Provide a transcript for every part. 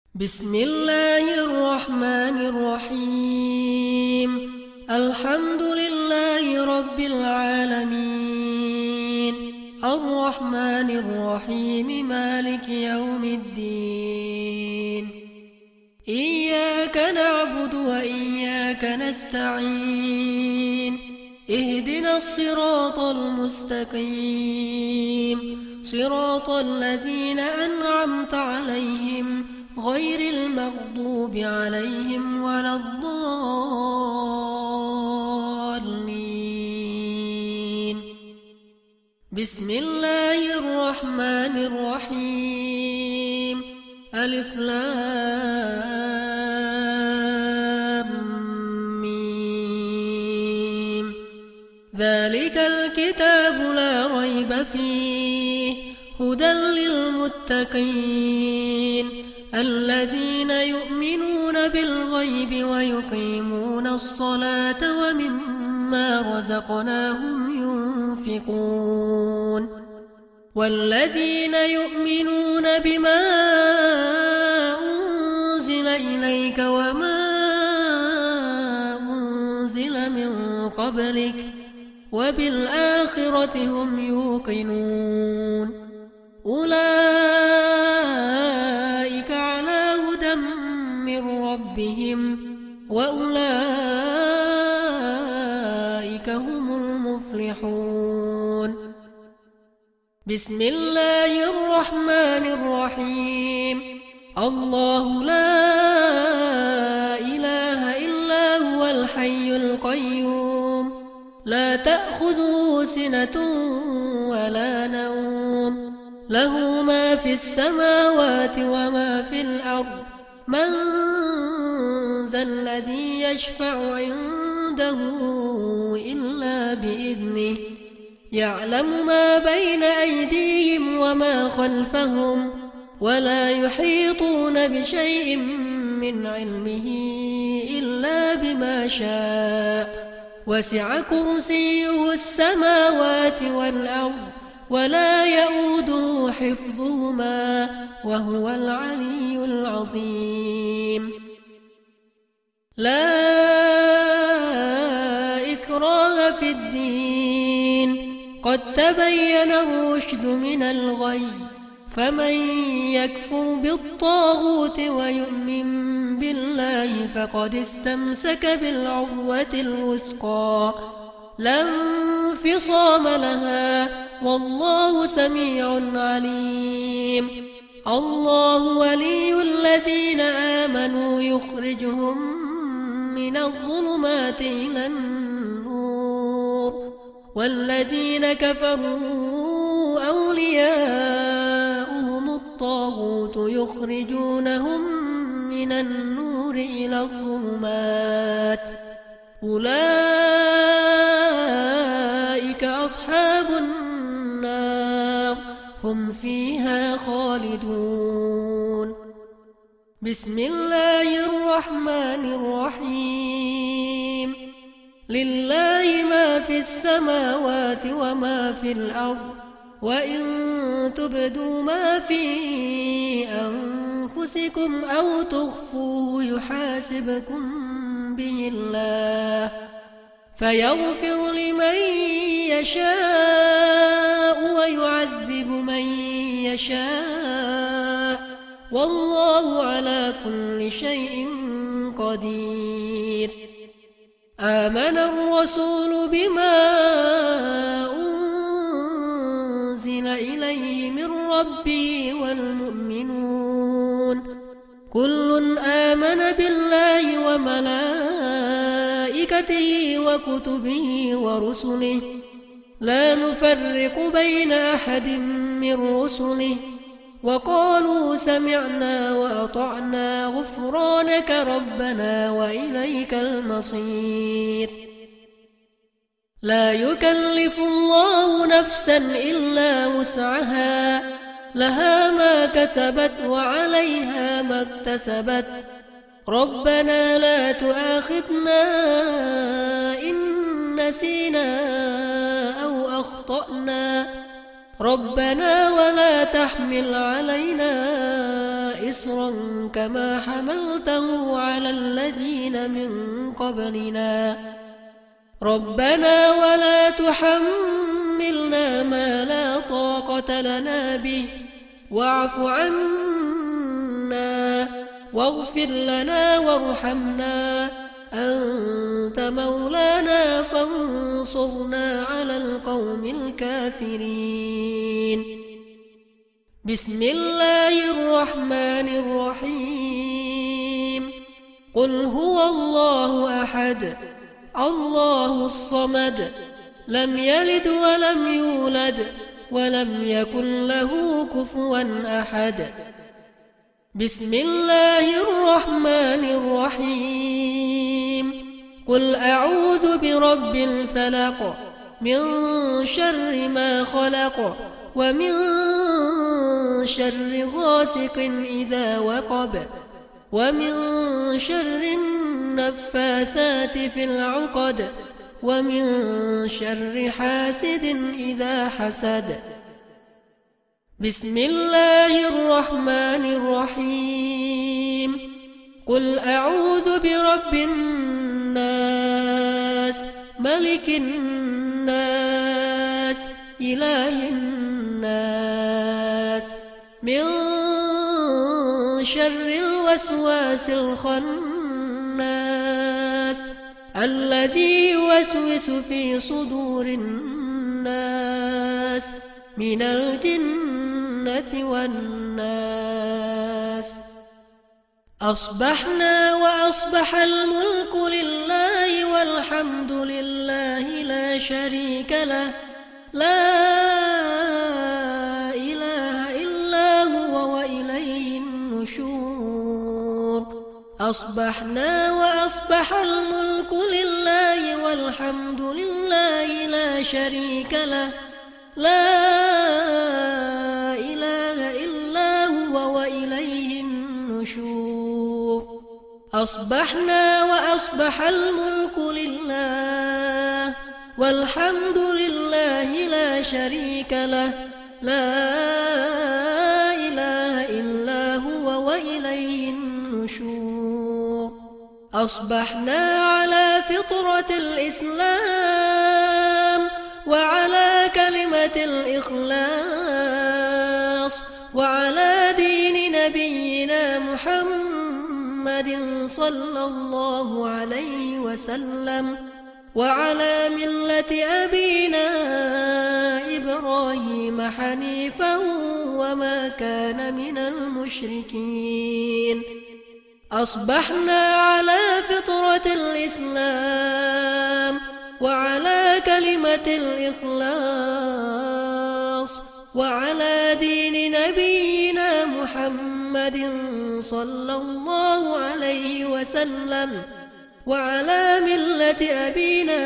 بسم الله الرحمن الرحيم الحمد لله رب العالمين الرحمن الرحيم مالك يوم الدين إياك نعبد وإياك نستعين اهدنا الصراط المستقيم صراط الذين أنعمت عليهم غير المغضوب عليهم ولا الضالين بسم الله الرحمن الرحيم ألف لام ميم ذلك الكتاب لا ريب فيه هدى للمتقين الذين يؤمنون بالغيب ويقيمون الصلاة ومما رزقناهم ينفقون والذين يؤمنون بما أنزل إليك وما أنزل من قبلك وبالآخرة هم يوقنون أولئك على هدى من ربهم وأولئك هم المفلحون بسم الله الرحمن الرحيم الله لا إله إلا هو الحي القيوم لا تأخذه سنة ولا نوم له ما في السماوات وما في الأرض من ذا الذي يشفع عنده إلا بإذنه يعلم ما بين أيديهم وما خلفهم ولا يحيطون بشيء من علمه إلا بما شاء وسع كرسيه السماوات والأرض ولا يؤوده حفظهما وهو العلي العظيم لا إكراه في الدين قد تبين الرشد من الغي فمن يكفر بالطاغوت ويؤمن بالله فقد استمسك بالعروة الوثقى لا انفصام لها والله سميع عليم الله ولي الذين آمنوا يخرجهم من الظلمات إلى النور والذين كفروا أولياؤهم الطاغوت يخرجونهم من النور إلى الظلمات أولئك أصحاب النار هم فيها خالدون بسم الله الرحمن الرحيم لله ما في السماوات وما في الأرض وإن تبدوا ما في أنفسكم أو تخفوه يحاسبكم به الله فيغفر لمن يشاء ويعذب من يشاء والله على كل شيء قدير آمن الرسول بما أنزل إليه من ربه والمؤمنون كل آمن بالله وملائكته وكتبه ورسله لا نفرق بين أحد من رسله وقالوا سمعنا وأطعنا غفرانك ربنا وإليك المصير لا يكلف الله نفسا إلا وسعها لها ما كسبت وعليها ما اكتسبت ربنا لا تؤاخذنا إن نسينا أو أخطأنا ربنا ولا تحمل علينا إصرا كما حملته على الذين من قبلنا ربنا ولا تحملنا ما لا طاقة لنا به واعف عنا واغفر لنا وارحمنا أنت مولانا فانصرنا على القوم الكافرين بسم الله الرحمن الرحيم قل هو الله أحد الله الصمد لم يلد ولم يولد ولم يكن له كفوا أحد بسم الله الرحمن الرحيم قل أعوذ برب الفلق من شر ما خلق ومن شر غاسق إذا وقب ومن شر النفاثات في العقد ومن شر حاسد إذا حسد بسم الله الرحمن الرحيم قل أعوذ برب الناس ملك الناس إله الناس من شر الوسواس الخناس الذي يوسوس في صدور الناس من الجنة والناس أصبحنا وأصبح الملك لله والحمد لله لا شريك له لا إله إلا هو وإليه النشور أصبحنا وأصبح الملك لله والحمد لله لا شريك له لا إله إلا هو وإليه النشور أصبحنا وأصبح الملك لله والحمد لله لا شريك له لا إله إلا هو وإليه النشور أصبحنا على فطرة الإسلام وعلى كلمة الإخلاص وعلى دين نبينا محمد صلى الله عليه وسلم وعلى ملة أبينا إبراهيم حنيفا وما كان من المشركين أصبحنا على فطرة الإسلام وعلى كلمة الإخلاص وعلى دين نبينا محمد صلى الله عليه وسلم وعلى ملة أبينا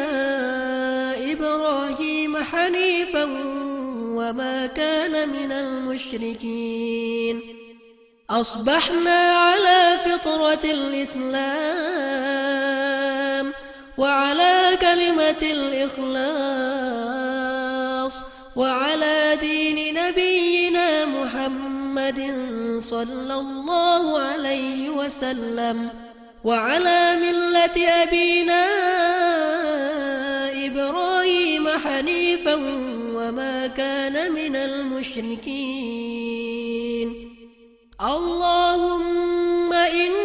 إبراهيم حنيفا وما كان من المشركين أصبحنا على فطرة الإسلام وعلى كلمة الإخلاص وعلى دين نبينا محمد صلى الله عليه وسلم وعلى ملة أبينا إبراهيم حنيفا وما كان من المشركين اللهم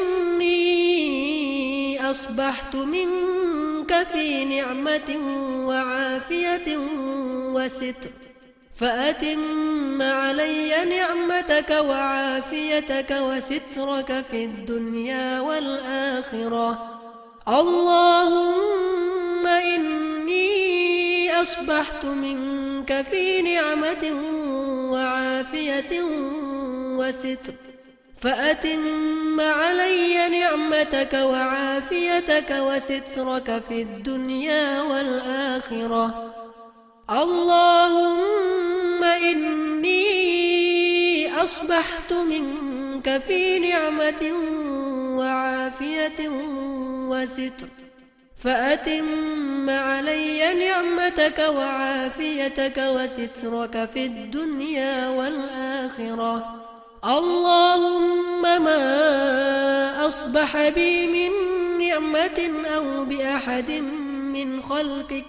إني أصبحت منك في نعمة وعافية وستر فأتم علي نعمتك وعافيتك وسترك في الدنيا والآخرة اللهم إني أصبحت منك في نعمة وعافية وستر فأتم علي نعمتك وعافيتك وسترك في الدنيا والآخرة اللهم إني أصبحت منك في نعمة وعافية وستر فأتم علي نعمتك وعافيتك وسترك في الدنيا والآخرة. اللهم ما أصبح بي من نعمة أو بأحد من خلقك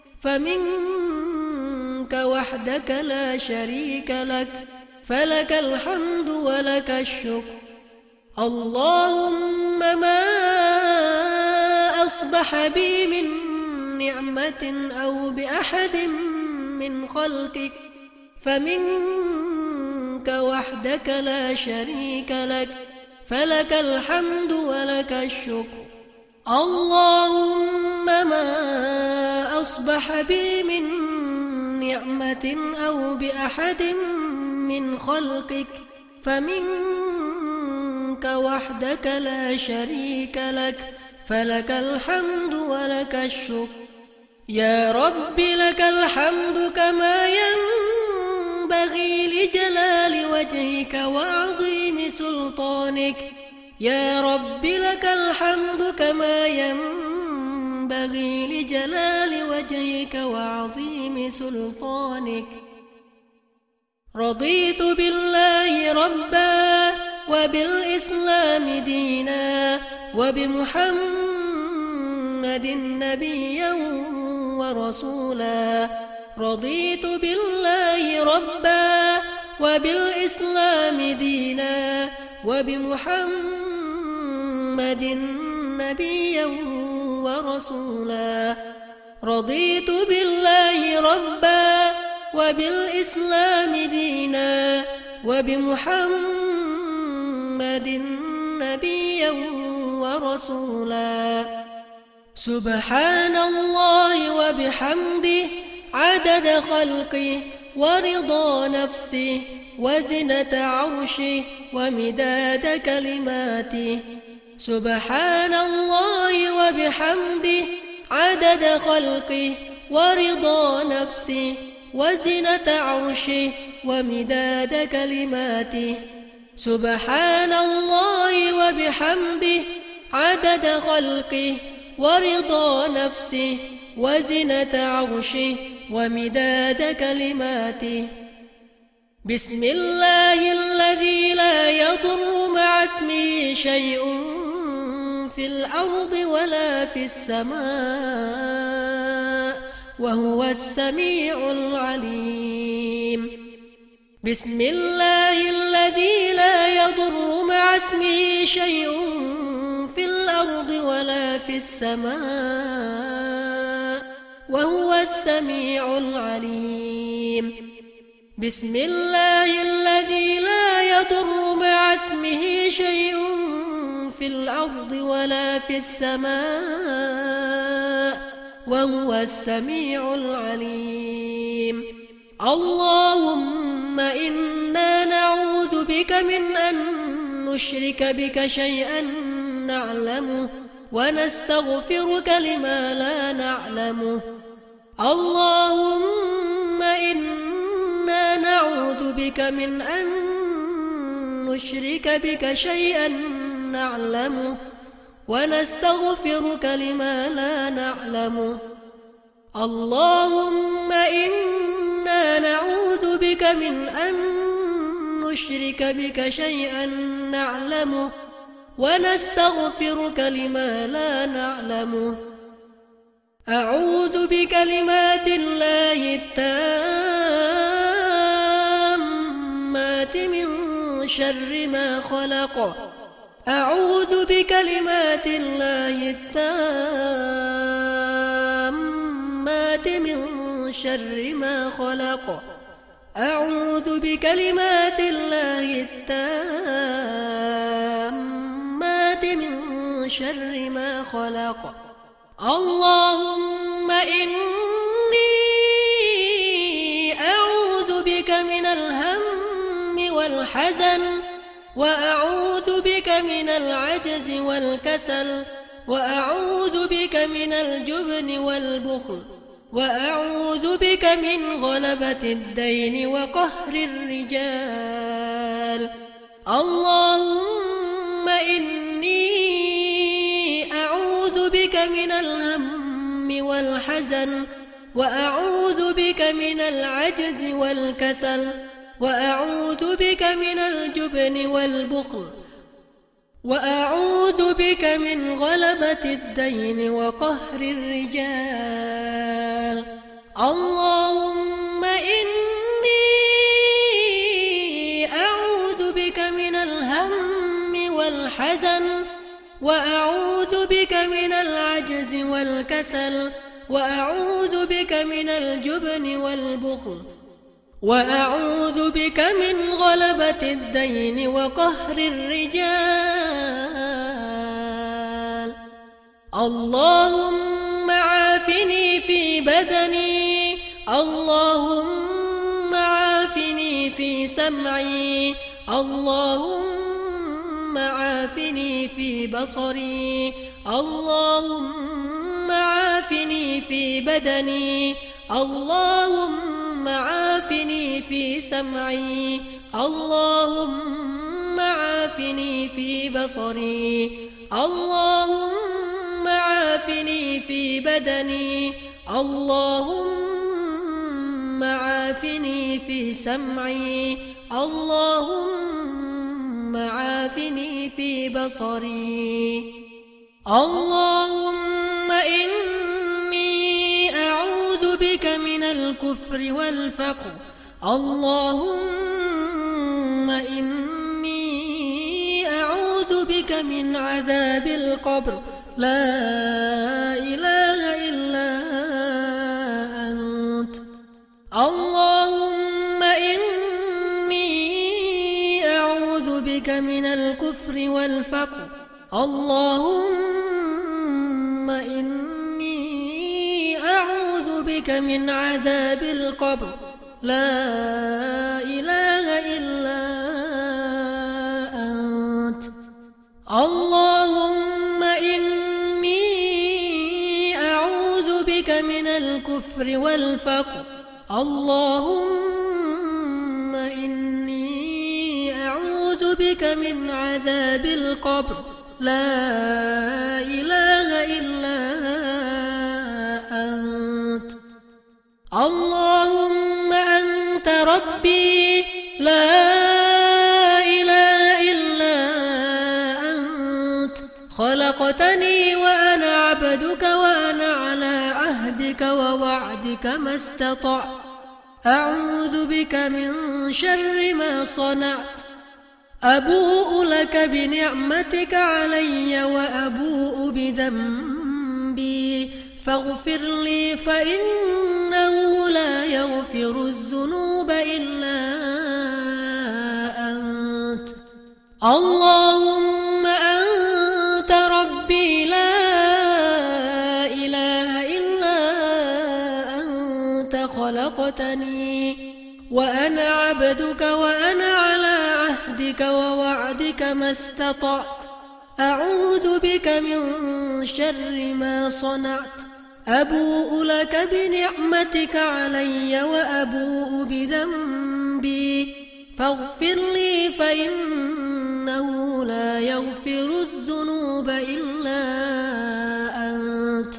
فمنك وحدك لا شريك لك، فلك الحمد ولك الشكر. اللهم ما أصبح بي من نعمة أو بأحد من خلقك فمنك وحدك لا شريك لك، فلك الحمد ولك الشكر. اللهم ما أصبح بي من نعمة أو بأحد من خلقك فمنك وحدك لا شريك لك، فلك الحمد ولك الشكر. يا رب لك الحمد كما ينبغي لجلال وجهك وعظيم سلطانك. يا رب لك الحمد كما ينبغي لجلال وجهك وعظيم سلطانك. رضيت بالله ربا وبالإسلام دينا وبمحمد نبيا ورسولا. رضيت بالله ربا وبالإسلام دينا وبمحمد نبيا ورسولا. رضيت بالله ربا وبالإسلام دينا وبمحمد نبيا ورسولا. سبحان الله وبحمده عدد خلقه ورضا نفسه وزنة عرشه ومداد كلماته. سبحان الله وبحمده عدد خلقه ورضا نفسه وزنة عرشه ومداد كلماته. سبحان الله وبحمده عدد خلقه ورضا نفسه وزنة عرشه ومداد كلماته. بسم الله الذي لا يضر مع اسمه شيء في الأرض ولا في السماء وهو السميع العليم. بسم الله الذي لا يضر مع اسمه شيء في الأرض ولا في السماء وهو السميع العليم. بسم الله الذي لا يضر مع اسمه شيء في الأرض ولا في السماء وهو السميع العليم. اللهم إنا نعوذ بك من أن نشرك بك شيئا نعلمه ونستغفرك لما لا نعلمه. اللهم إنا نعوذ بك من أن نشرك بك شيئا نعلمه ونستغفرك لما لا نعلمه. اللهم إنا نعوذ بك من أن نشرك بك شيئا نعلمه ونستغفرك لما لا نعلمه. أعوذ بكلمات الله التامات من شر ما خلق. أعوذ بكلمات الله التامات من شر ما خلق. أعوذ بكلمات الله التامات من شر ما خلق. اللهم إني أعوذ بك من الهم والحزن وأعوذ بك من العجز والكسل وأعوذ بك من الجبن والبخل وأعوذ بك من غلبة الدين وقهر الرجال. اللهم إني أعوذ بك من الهم والحزن وأعوذ بك من العجز والكسل وأعوذ بك من الجبن والبخل وأعوذ بك من غلبة الدين وقهر الرجال. اللهم إني أعوذ بك من الهم والحزن وأعوذ بك من العجز والكسل وأعوذ بك من الجبن والبخل وأعوذ بك من غلبة الدين وقهر الرجال. اللهم عافني في بدني، اللهم عافني في سمعي، اللهم عافني في بصري، اللهم عافني في بدني، اللهم عافني في سمعي، اللهم عافني في بصري، اللهم عافني في بدني، اللهم عافني في سمعي، اللهم عافني في بصري. اللهم إني أعوذ بك من الكفر والفقر، اللهم إني أعوذ بك من عذاب القبر، لا إله إلا أنت. اللهم إني أعوذ بك من الكفر والفقر، اللهم إني أعوذ بك من عذاب القبر، لا إله إلا أنت. اللهم إني أعوذ بك من الكفر والفقر، اللهم إني أعوذ بك من عذاب القبر، لا إله إلا أنت. اللهم أنت ربي، لا إله إلا أنت، خلقتني وأنا عبدك وأنا على عهدك ووعدك ما استطعت، أعوذ بك من شر ما صنعت، أبوء لك بنعمتك علي وأبوء بذنبي، فاغفر لي فإنه لا يغفر الذنوب إلا أنت. اللهم أنت ربي، لا إله إلا أنت، خلقتني وأنا عبدك وأنا على عهدك ووعدك ما استطعت، أعوذ بك من شر ما صنعت، أبوء لك بنعمتك علي وأبوء بذنبي، فاغفر لي فإنه لا يغفر الذنوب إلا أنت.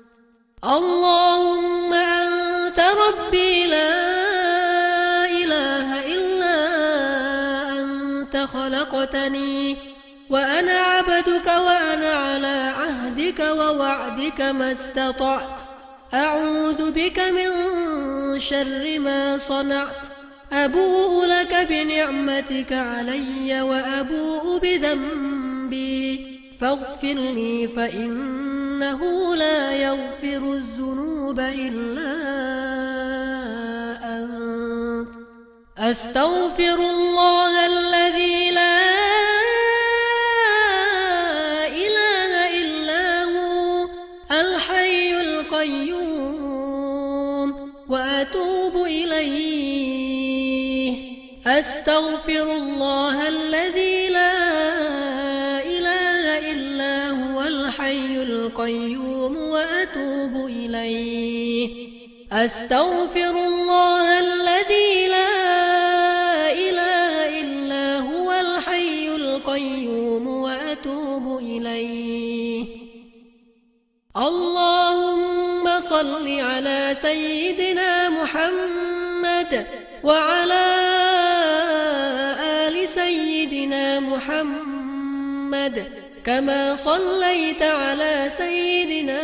اللهم أنت ربي، لا إله إلا أنت، خلقتني وأنا عبدك وأنا على عهدك ووعدك ما استطعت، أعوذ بك من شر ما صنعت، أبوء لك بنعمتك علي وأبوء بذنبي، فاغفر لي فإنه لا يغفر الذنوب إلا أنت. أستغفر الله الذي لا إله إلا هو الحي القيوم وأتوب إليه. أستغفر الله الذي لا إله إلا هو الحي القيوم وأتوب إليه. أستغفر الله الذي لا إله إلا هو الحي القيوم وأتوب إليه. صل على سيدنا محمد وعلى آل سيدنا محمد كما صليت على سيدنا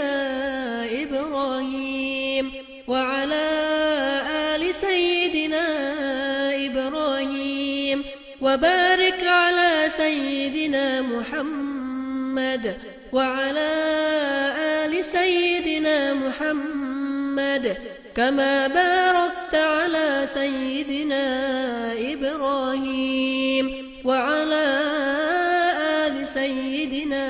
إبراهيم وعلى آل سيدنا إبراهيم وبارك على سيدنا محمد وعلى آل سيدنا محمد كما باركت على سيدنا إبراهيم وعلى آل سيدنا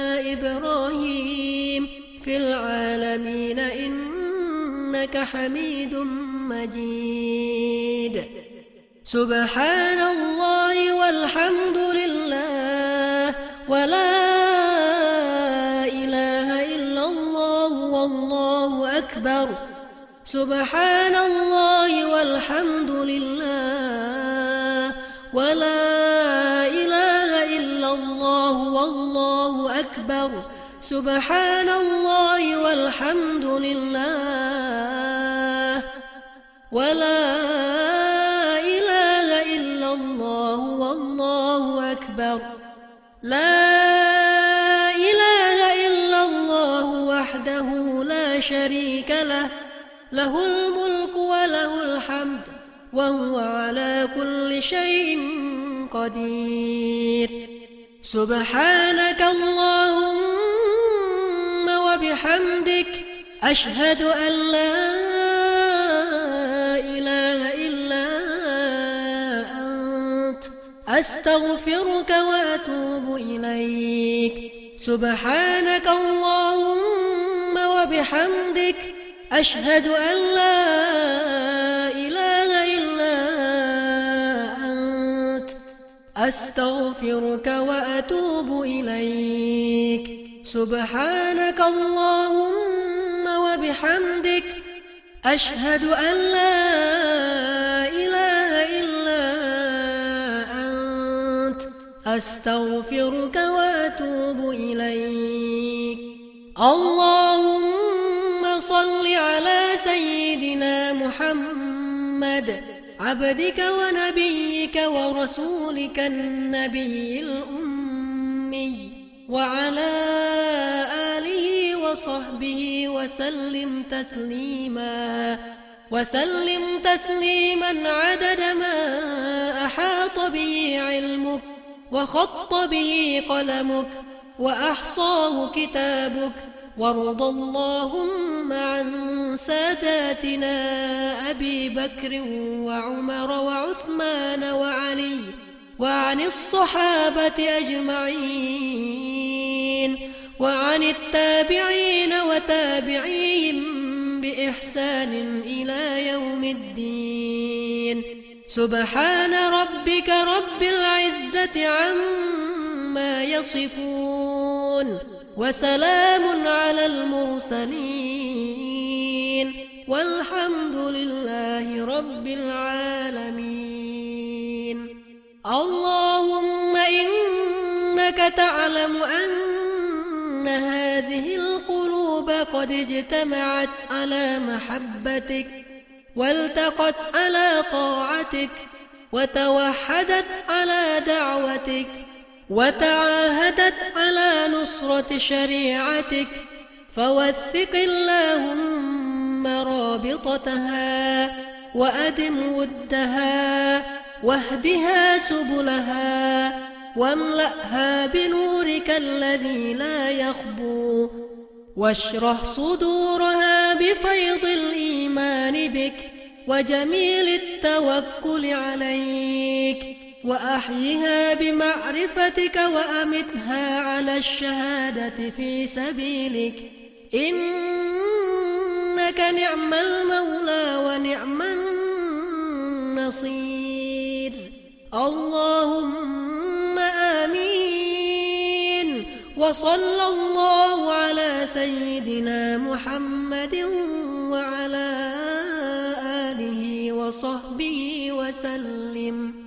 إبراهيم في العالمين إنك حميد مجيد. سبحان الله والحمد لله ولا إله إلا الله والله أكبر. سبحان الله والحمد لله ولا إله إلا الله والله أكبر. سبحان الله والحمد لله ولا إله إلا الله والله أكبر. لا إله إلا الله وحده لا شريك له، له الملك وله الحمد وهو على كل شيء قدير. سبحانك اللهم وبحمدك أشهد أن لا إله إلا أنت أستغفرك وأتوب إليك. سبحانك اللهم وبحمدك أشهد أن لا إله إلا أنت أستغفرك وأتوب إليك. سبحانك اللهم وبحمدك أشهد أن لا إله إلا أنت أستغفرك وأتوب إليك. اللهم صل على سيدنا محمد عبدك ونبيك ورسولك النبي الأمي وعلى آله وصحبه وسلم تسليما عدد ما أحاط به علمك وخط به قلمك وأحصاه كتابك. وارض اللهم عن ساداتنا أبي بكر وعمر وعثمان وعلي وعن الصحابة أجمعين وعن التابعين وتابعيهم بإحسان إلى يوم الدين. سبحان ربك رب العزة عما يصفون وسلام على المرسلين والحمد لله رب العالمين. اللهم إنك تعلم أن هذه القلوب قد اجتمعت على محبتك والتقت على طاعتك وتوحدت على دعوتك وتعاهدت على نصرة شريعتك، فوثق اللهم رابطتها وأدم ودها واهدها سبلها واملأها بنورك الذي لا يخبو، واشرح صدورها بفيض الإيمان بك وجميل التوكل عليك، وأحيها بمعرفتك وأمتها على الشهادة في سبيلك، إنك نعم المولى ونعم النصير. اللهم آمين. وصلى الله على سيدنا محمد وعلى آله وصحبه وسلم.